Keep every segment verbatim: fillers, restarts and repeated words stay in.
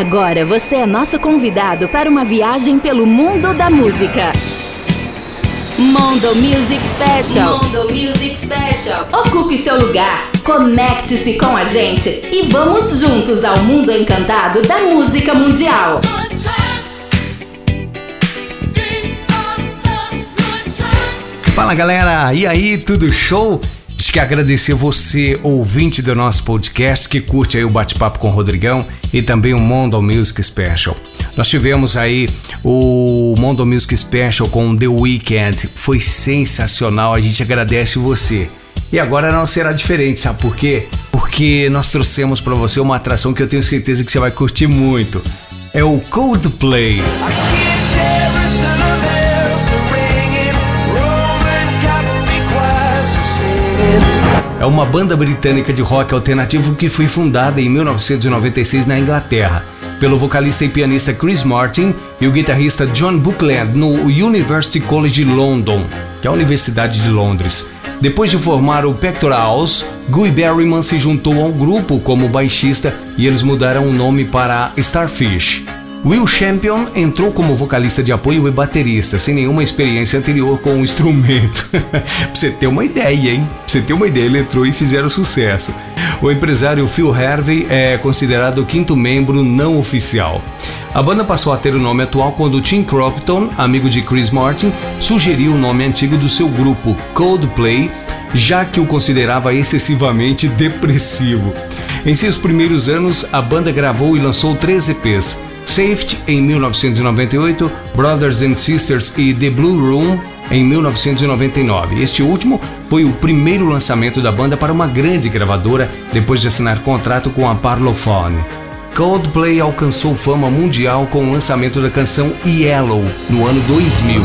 Agora você é nosso convidado para uma viagem pelo mundo da música. Mondo Music Special. Mondo Music Special. Ocupe seu lugar, conecte-se com a gente e vamos juntos ao mundo encantado da música mundial. Fala galera, e aí, tudo show? Acho que agradecer você, ouvinte do nosso podcast, que curte aí o bate-papo com o Rodrigão e também o Mondo Music Special. Nós tivemos aí o Mondo Music Special com The Weeknd, foi sensacional, a gente agradece você. E agora não será diferente, sabe por quê? Porque nós trouxemos para você uma atração que eu tenho certeza que você vai curtir muito. É o Coldplay. É uma banda britânica de rock alternativo que foi fundada em mil novecentos e noventa e seis na Inglaterra pelo vocalista e pianista Chris Martin e o guitarrista John Buckland no University College London, que é a Universidade de Londres. Depois de formar o Pectorals, Guy Berryman se juntou ao grupo como baixista e eles mudaram o nome para Starfish. Will Champion entrou como vocalista de apoio e baterista, sem nenhuma experiência anterior com o instrumento. Pra você ter uma ideia, hein? Pra você ter uma ideia, ele entrou e fizeram sucesso. O empresário Phil Harvey é considerado o quinto membro não oficial. A banda passou a ter o nome atual quando Tim Crompton, amigo de Chris Martin, sugeriu o nome antigo do seu grupo, Coldplay, já que o considerava excessivamente depressivo. Em seus primeiros anos, a banda gravou e lançou três E Pês. Safety em mil novecentos e noventa e oito, Brothers and Sisters e The Blue Room em mil novecentos e noventa e nove. Este último foi o primeiro lançamento da banda para uma grande gravadora depois de assinar contrato com a Parlophone. Coldplay alcançou fama mundial com o lançamento da canção Yellow no ano dois mil.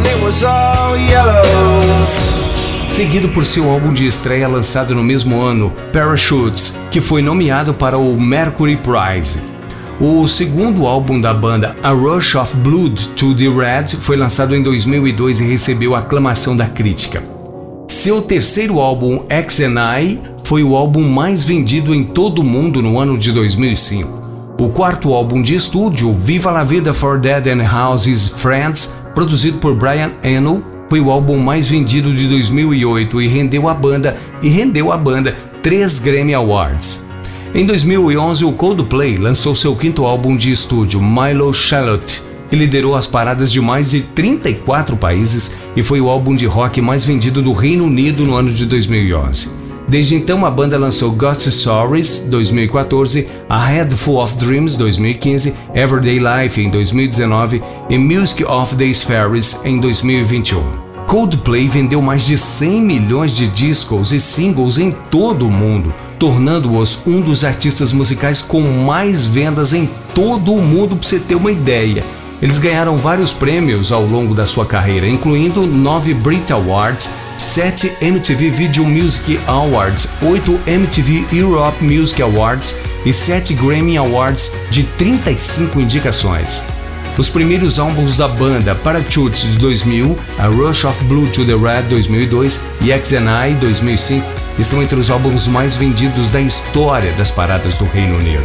Seguido por seu álbum de estreia lançado no mesmo ano, Parachutes, que foi nomeado para o Mercury Prize. O segundo álbum da banda, A Rush of Blood to the Red, foi lançado em dois mil e dois e recebeu a aclamação da crítica. Seu terceiro álbum, X and I, foi o álbum mais vendido em todo o mundo no ano de dois mil e cinco. O quarto álbum de estúdio, Viva la Vida for Dead and Houses Friends, produzido por Brian Eno, foi o álbum mais vendido de dois mil e oito e rendeu à banda e rendeu à banda três Grammy Awards. Em dois mil e onze, o Coldplay lançou seu quinto álbum de estúdio, Milo Charlotte, que liderou as paradas de mais de trinta e quatro países e foi o álbum de rock mais vendido do Reino Unido no ano de dois mil e onze. Desde então, a banda lançou Ghost Stories, dois mil e quatorze, A Head Full of Dreams, dois mil e quinze, Everyday Life, em dois mil e dezenove e Music of the Spheres, em dois mil e vinte e um. Coldplay vendeu mais de cem milhões de discos e singles em todo o mundo, tornando-os um dos artistas musicais com mais vendas em todo o mundo, para você ter uma ideia. Eles ganharam vários prêmios ao longo da sua carreira, incluindo nove Brit Awards, sete M T V Video Music Awards, oito M T V Europe Music Awards e sete Grammy Awards de trinta e cinco indicações. Os primeiros álbuns da banda, Parachutes de dois mil, A Rush of Blood to the Red dois mil e dois e X and I dois mil e cinco, estão entre os álbuns mais vendidos da história das paradas do Reino Unido.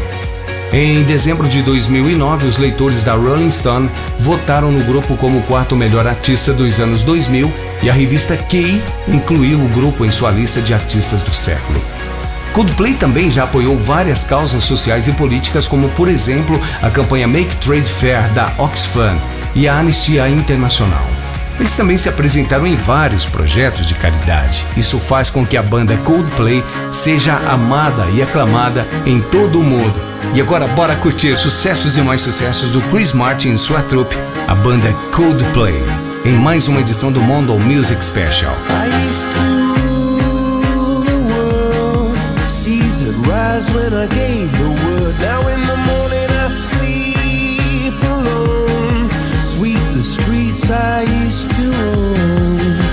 Em dezembro de dois mil e nove, os leitores da Rolling Stone votaram no grupo como o quarto melhor artista dos anos dois mil e a revista Key incluiu o grupo em sua lista de artistas do século. Coldplay também já apoiou várias causas sociais e políticas, como por exemplo a campanha Make Trade Fair da Oxfam e a Anistia Internacional. Eles também se apresentaram em vários projetos de caridade. Isso faz com que a banda Coldplay seja amada e aclamada em todo o mundo. E agora bora curtir sucessos e mais sucessos do Chris Martin e sua trupe, a banda Coldplay, em mais uma edição do Mondo Music Special. Rise when I gave the word. Now in the morning I sleep alone. Sweep the streets I used to own.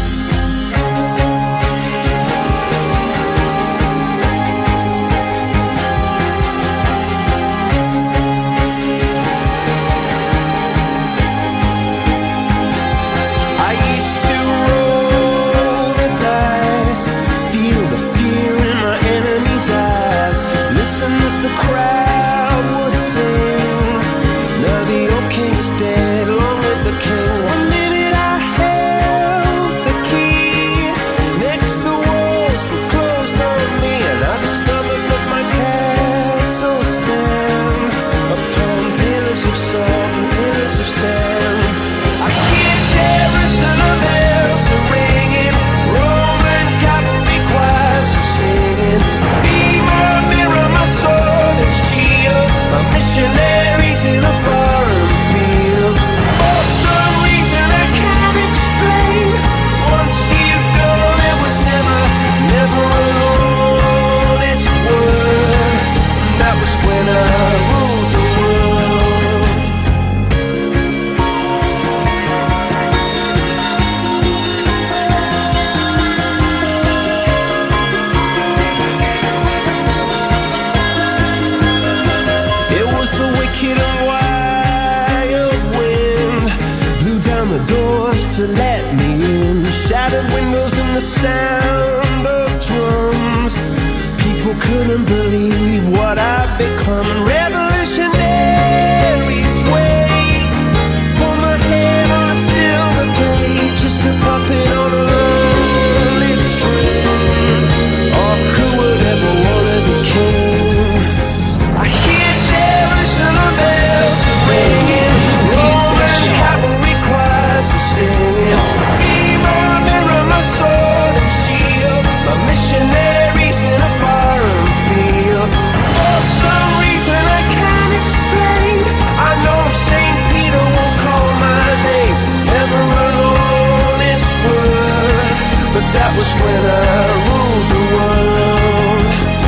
I used to roll the dice, feel the fear in my enemy's eyes. Listen as the crowd would sing. wicked and wild wind blew down the doors to let me in. Shattered windows and the sound of drums. People couldn't believe what I'd become. Revolutionaries wait for my head on a silver plate, just a puppet on a lonely string. Oh, who would ever wanna be king? I hear Jerusalem bells ringing, Roman cavalry choirs are singing. Be my mirror, my sword and shield, my missionaries in a foreign field. For some reason I can't explain, I know Saint Peter won't call my name, never an honest word, but that was when I ruled the world.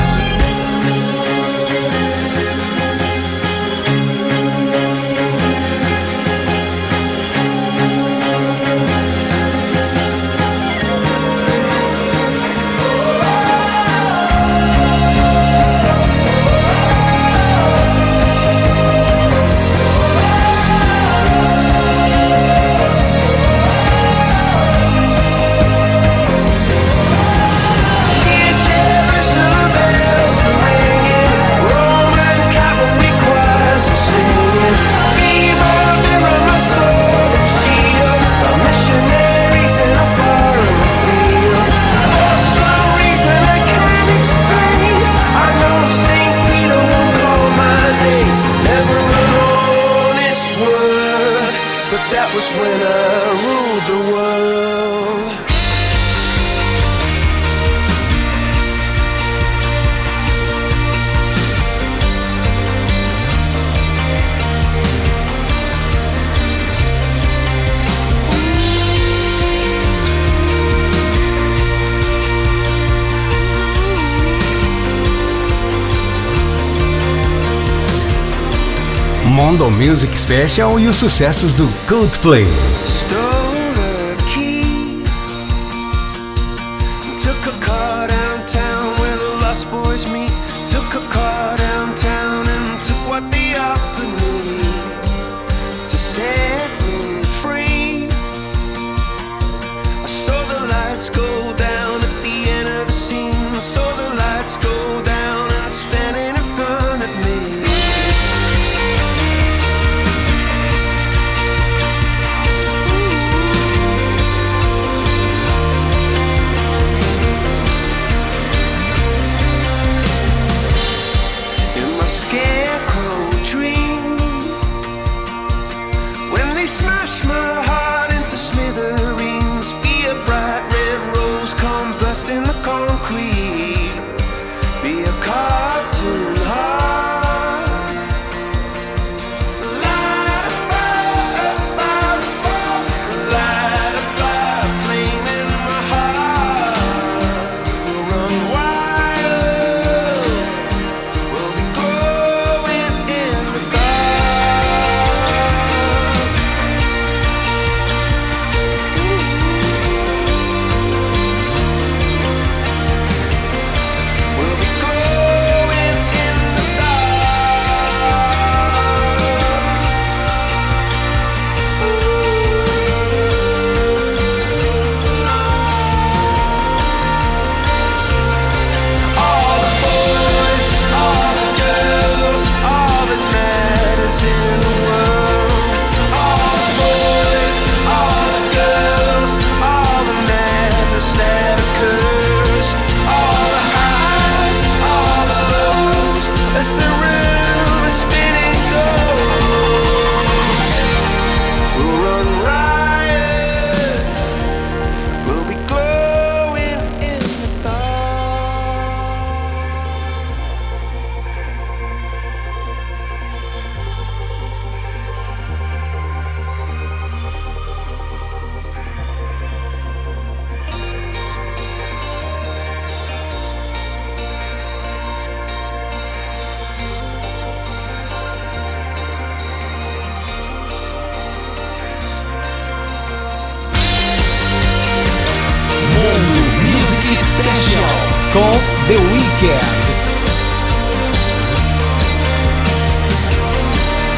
When I ruled the world. Mondo Music Special e os sucessos do Coldplay. Stole a key, took a car downtown where the lost boys meet. Took a car downtown and took what they offered me to set me free. I saw the lights go down at the end of the scene. I saw the lights go down and standing in front of me. Smash my heart into smithereens. Be a bright red rose, come burst in the concrete. Be a cartoon heart. Light a fire, a fire spark. Light a fire, flame in my heart. We'll run wild. We'll be glowing in the dark. com The Weeknd.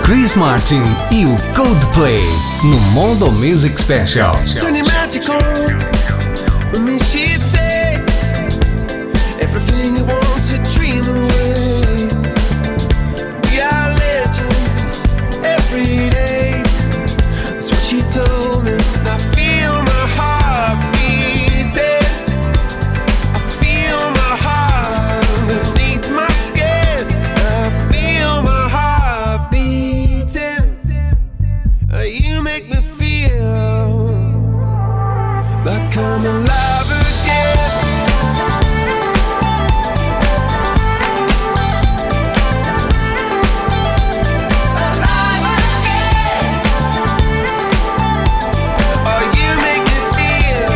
Chris Martin e o Coldplay no Mondo Music Special. Turn your magic on. With me she'd say everything you want to dream away. We are legends every day. That's what she told me. I feel my heart beating. I feel my heart underneath my skin. I feel my heart beating. You make me feel like I'm alive again. Alive again. Oh, you make me feel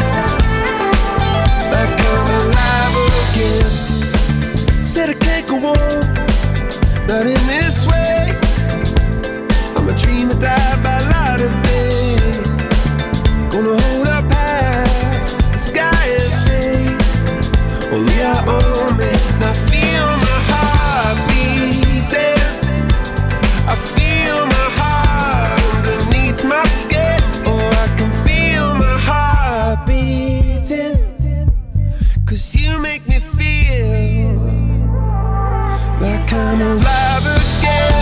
like I'm alive again. Said I can't go on, not in this way. I'm a dreamer, die by light of day. Gonna hold up half the sky and say, only I own me. Now I feel my heart beating. I feel my heart underneath my skin. Oh, I can feel my heart beating. Cause you make me feel like I'm alive again.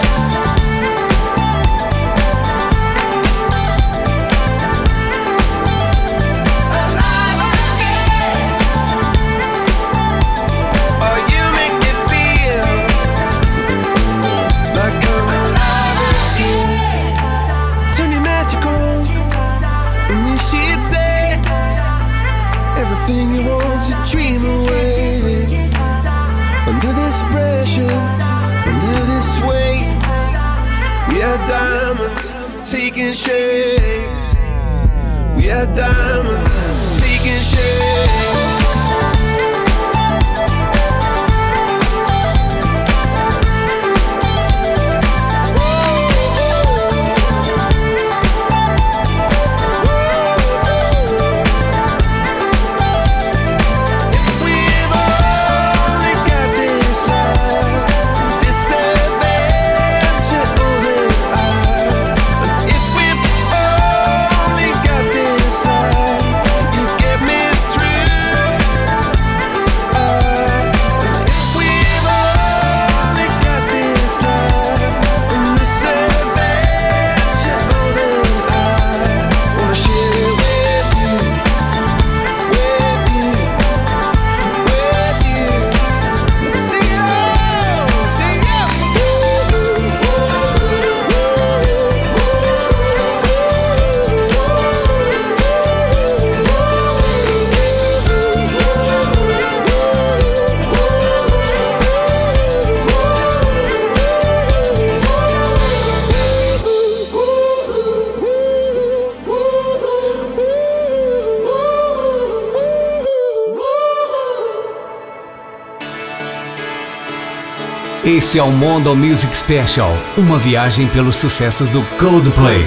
Everything you want to dream away. Under this pressure, under this weight, we are diamonds taking shape. We are diamonds taking shape. Esse é o Mondo Music Special, uma viagem pelos sucessos do Coldplay.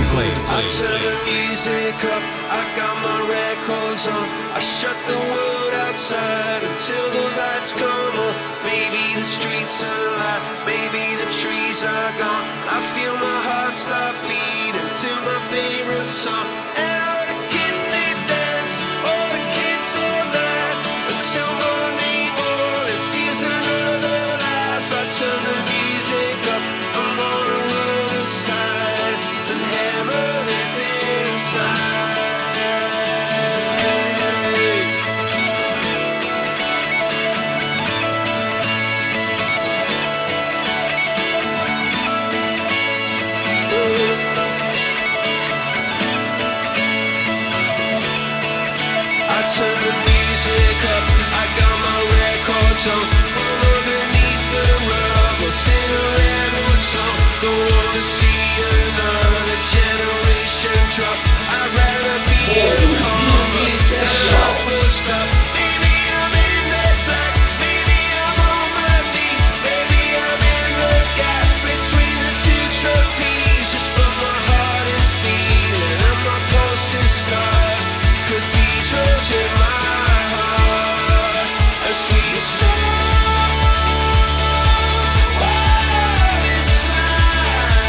Sweet soul, what is life?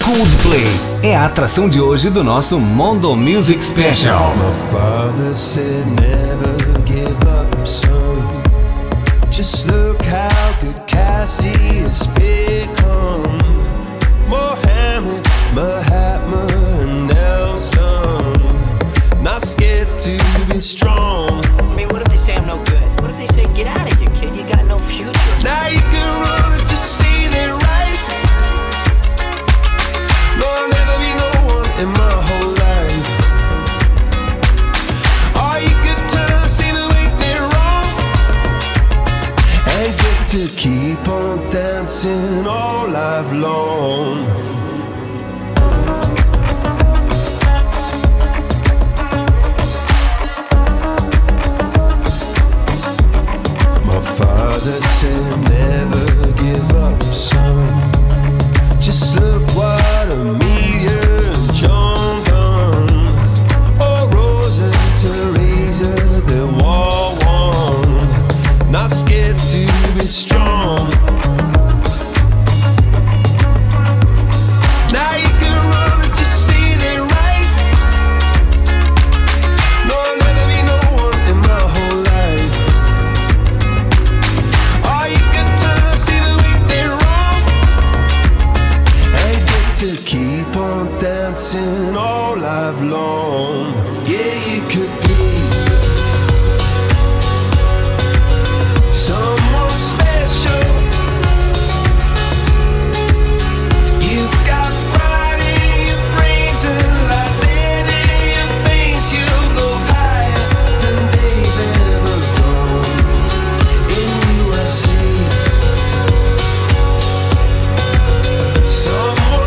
Coldplay é a atração de hoje do nosso Mondo Music Special. My father said never give up, son. Just look how good Cassie has become. Mohammed, Mahatma and Nelson, not scared to be strong. I mean, what if they say I'm no good? What if they say, get out of here, kid, you got no future? Now you can run and just see they're right. No, I'll never be no one in my whole life. Or you could turn, see the way they're wrong, and get to keep on dancing all life long. Father said never give up, son. Just look what Amelia and John done. Oh, Rosa and Teresa, they all won. Not scared to be strong. Now you can run and just see they're right. No, I'll never be no one in my whole life. To keep on dancing all life long. Yeah, you could be someone special. You've got pride in your brains and like lead in your veins. You'll go higher than they've ever gone in U S A. Someone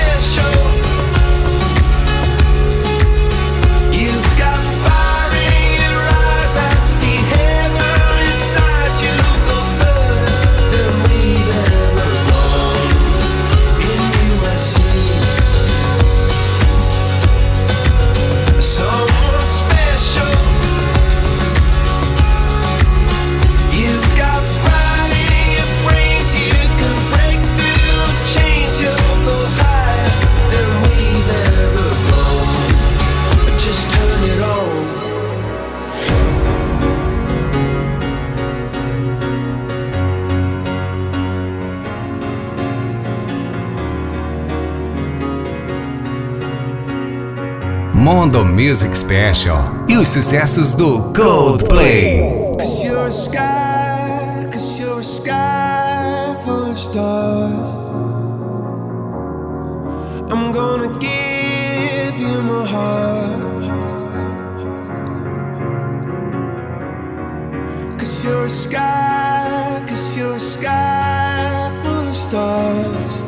Mondo Music Special e os sucessos do Coldplay. Cause you're a sky, cause you're a sky full of stars. I'm gonna give you my heart. Cause you're a sky, cause you're a sky full of stars.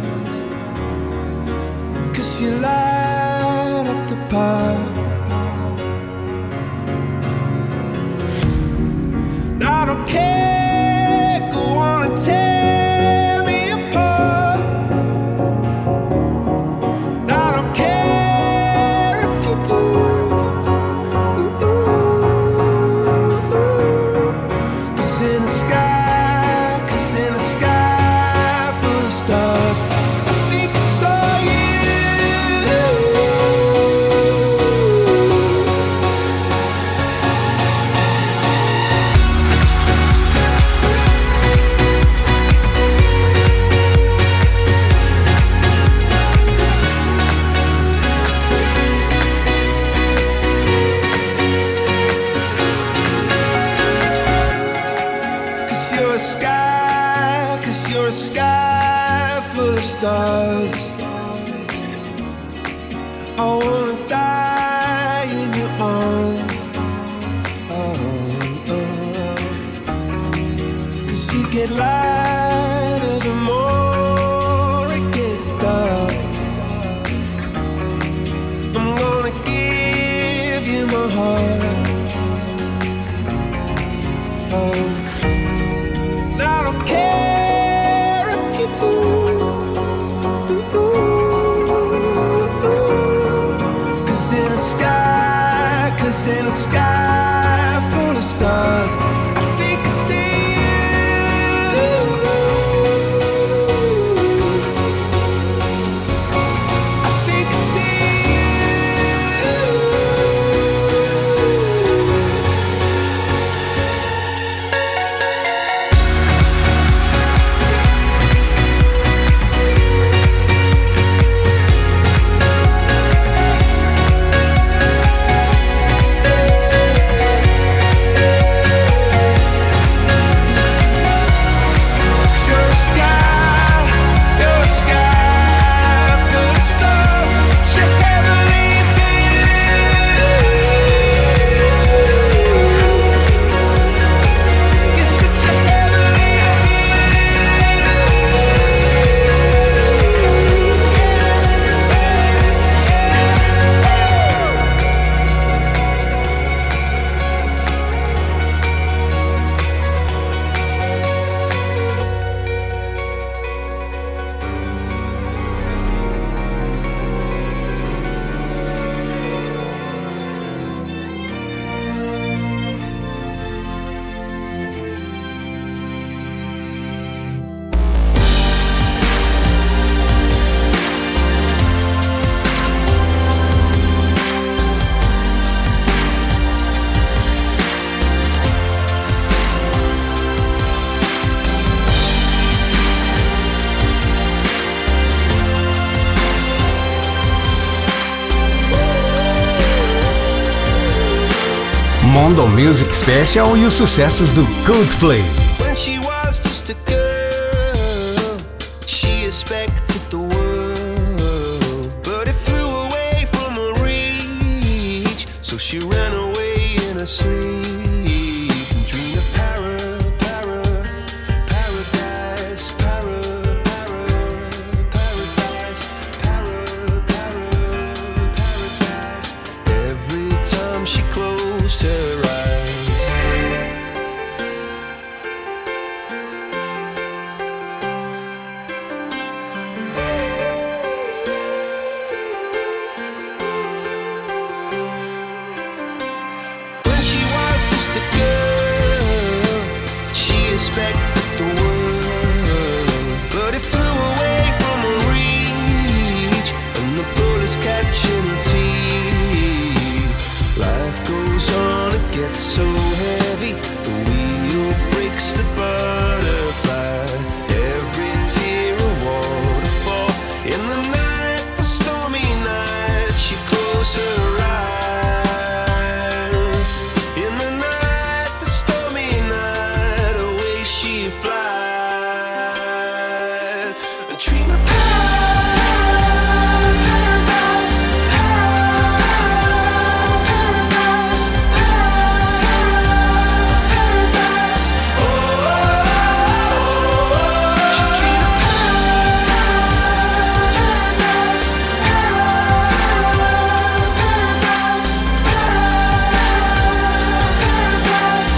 Cause you light up the path. I don't care, go on and tear me apart. I don't care if you do. Cause in the sky, cause in the sky full of stars, I think I saw you. Stars. I wanna die in your arms. Oh, oh. Cause you get lighter the more it gets dark. I'm gonna give you my heart. Oh, I don't care if you do. Mondo Music Special e os sucessos do Coldplay. When she was just a girl, she expected the world, but it flew away from her reach, so she ran away in her sleep and dreamed of para, para, paradise, para, para, paradise, para, para, paradise. Every time she closed her eyes. Expected the world, but it flew away from her reach, and the bullets catching her teeth. Life goes on, it gets so heavy, the wheel breaks the butterfly. Every tear a waterfall. In the night, the stormy night, she closed her eyes. In the night, the stormy night, away she flies. A dream of paradise, paradise, paradise. Oh, she dreamed of paradise, paradise, paradise.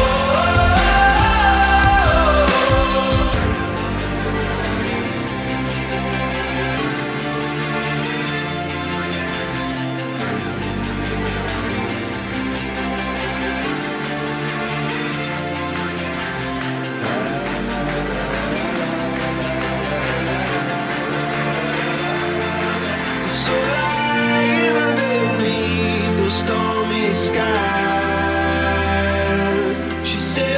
So lying underneath those stormy skies, she said,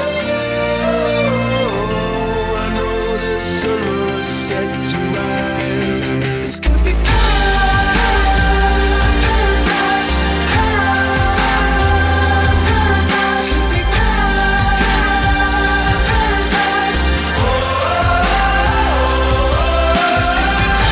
oh, I know the sun was set to rise. This could be paradise, paradise, could be paradise. Oh, this could be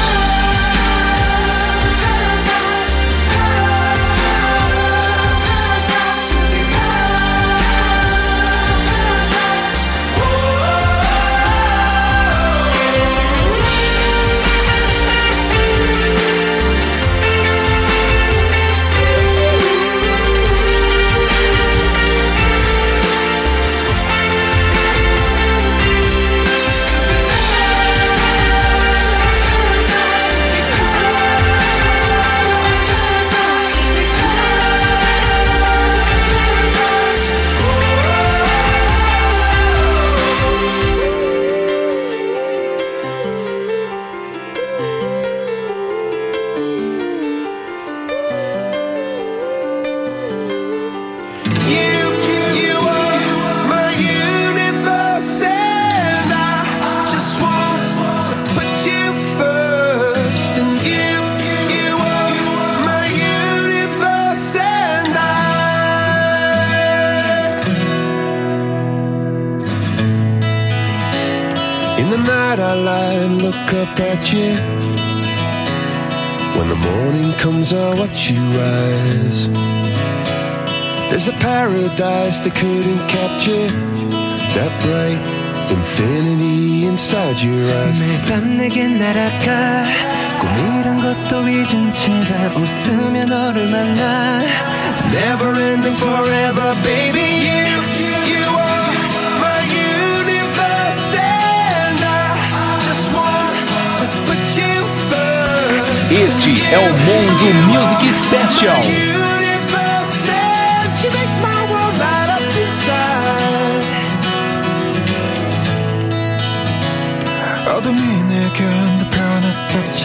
I lie and look up at you. When the morning comes, I watch you rise. There's a paradise they couldn't capture, that bright infinity inside your eyes. 매일 밤 내게 날아가 꿈이란 것도 잊은 채가 웃으며 너를 만나. Never ending forever, baby. You, you are my universe, and I just want to put you first. Este é o Mondo Music Special. Universe, and you make my world light up inside. 어둠이 내게 펴놨었지.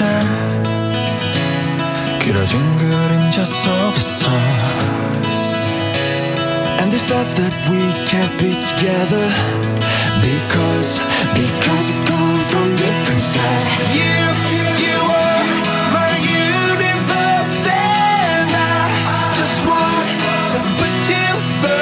길어진 그림자 속에서. And they thought that we can't be together Because, because we come from different sides. You, you are my universe, and I just want to put you first.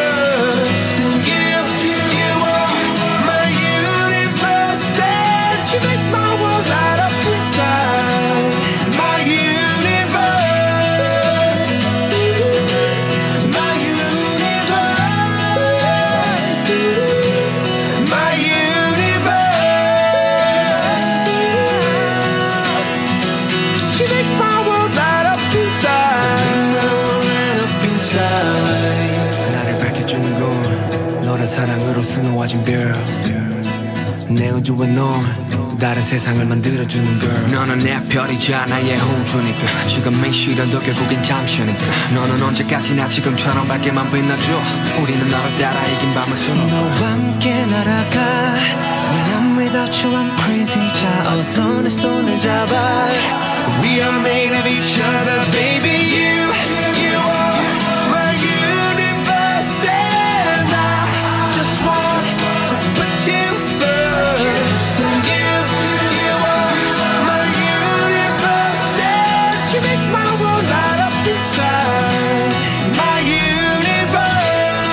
하루하루 수놓아진 별 내 우주와 넌 또 다른 세상을 만들어주는 girl 너는 내 별이자 나의 호주니까 지금 이 시련도 결국엔 잠시니까 너는 언제까지나 지금처럼 밝게만 빛나줘 우리는 너를 따라 이긴 밤을 수놓아 너와 함께 날아가 When I'm without you I'm crazy 자 어서 내 손을 잡아 We are made of each other baby you You are my universe and I just want to put you first and you You are my universe and you make my world light up inside My universe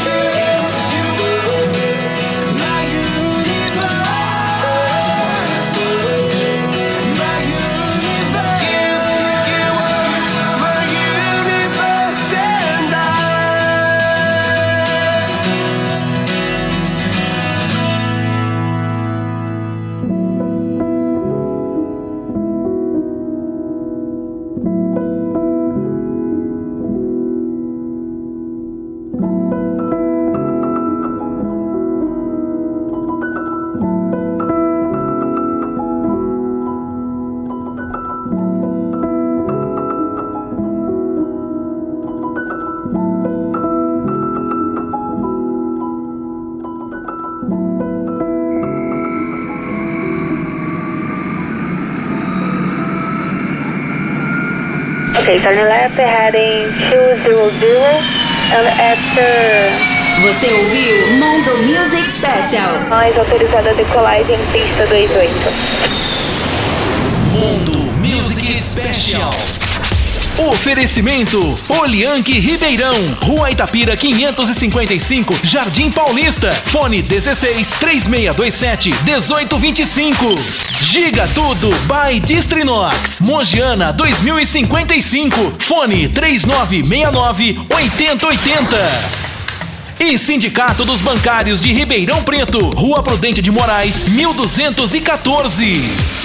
My universe My universe You, you are my universe and I Okay, starting left, heading two zero zero, and after Você ouviu Mondo Music Special. mais autorizada a decolagem pista dois oito. Mondo Music Special. Oferecimento Olianque Ribeirão, Rua Itapira quinhentos e cinquenta e cinco, Jardim Paulista. Fone dezesseis, três seis dois sete, um oito dois cinco. Giga Tudo by Distrinox, Mogiana dois mil e cinquenta e cinco. Fone três nove seis nove, oito zero oito zero. E Sindicato dos Bancários de Ribeirão Preto, Rua Prudente de Moraes, mil duzentos e quatorze.